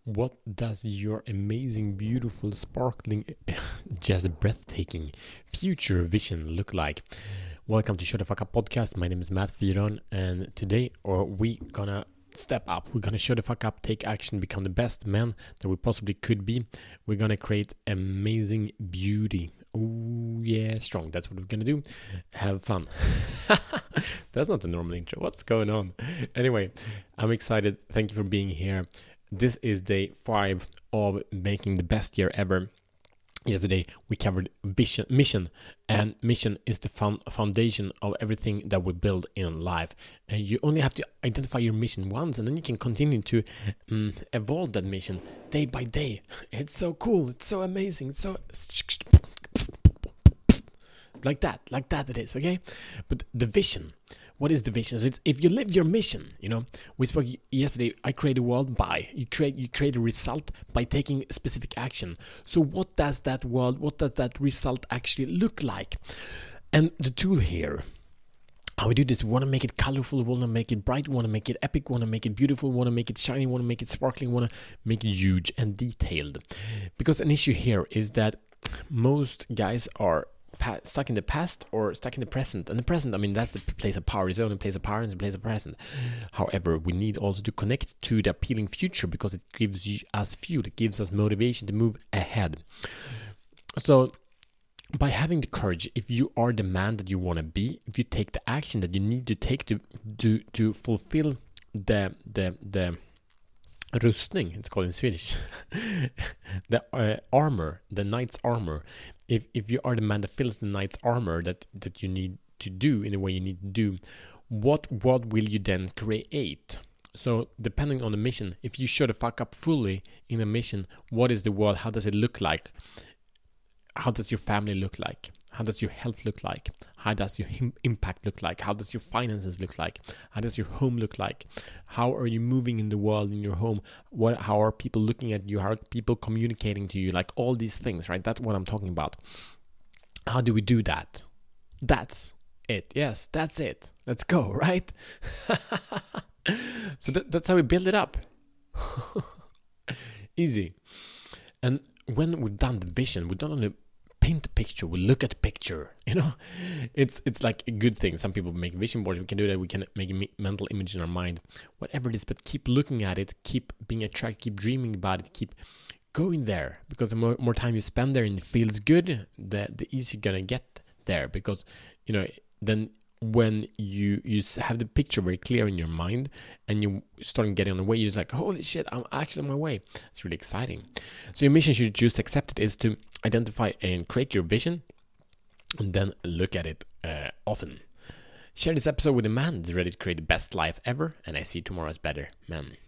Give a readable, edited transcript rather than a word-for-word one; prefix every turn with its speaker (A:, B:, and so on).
A: What does your amazing, beautiful, sparkling, just breathtaking future vision look like? Welcome to Shut the Fuck Up podcast. My name is Matt Fyron, and today we gonna step up. We're gonna shut the fuck up, take action, become the best man that we possibly could be. We're gonna create amazing beauty. Oh yeah, strong. That's what we're gonna do. Have fun. That's not the normal intro. What's going on? Anyway, I'm excited. Thank you for being here. This is day 5 of making the best year ever. Yesterday we covered mission, and mission is the foundation of everything that we build in life. And you only have to identify your mission once, and then you can continue to evolve that mission day by day. It's so cool. It's so amazing. It's so like that it is, okay? But the vision, what is the vision? So it's, if you live your mission, we spoke yesterday, I create a world by, you create a result by taking specific action. So what does that result actually look like? And the tool here, how we do this, we want to make it colorful, we want to make it bright, we want to make it epic, we want to make it beautiful, we want to make it shiny, we want to make it sparkling, we want to make it huge and detailed. Because an issue here is that most guys are stuck in the past or stuck in the present. And the present, that's the place of power. It's the only place of power and the place of present. However, we need also to connect to the appealing future because it gives us fuel. It gives us motivation to move ahead. So by having the courage, if you are the man that you want to be, if you take the action that you need to take to fulfill the rustning, it's called in Swedish, the armor, the knight's armor. If you are the man that fills the knight's armor that you need to do in the way you need to do, what will you then create? So depending on the mission, if you show the fuck up fully in a mission, what is the world? How does it look like? How does your family look like? How does your health look like? How does your impact look like? How does your finances look like? How does your home look like? How are you moving in the world in your home? How are people looking at you? How are people communicating to you? Like all these things, right? That's what I'm talking about. How do we do that? That's it. Yes, that's it. Let's go, right? So that's how we build it up. Easy. And when we've done the vision, we don't only paint the picture, we look at the picture. It's like a good thing. Some people make vision boards. We can do that. We can make a mental image in our mind, whatever it is. But keep looking at it, keep being attracted, keep dreaming about it, keep going there. Because the more time you spend there and it feels good, the easier you're gonna get there. Because then when you have the picture very clear in your mind and you start getting on the way, you're just like, holy shit, I'm actually on my way. It's really exciting. So your mission, should you choose to accept it, is to identify and create your vision and then look at it often. Share this episode with a man that's ready to create the best life ever, and I see tomorrow as better man.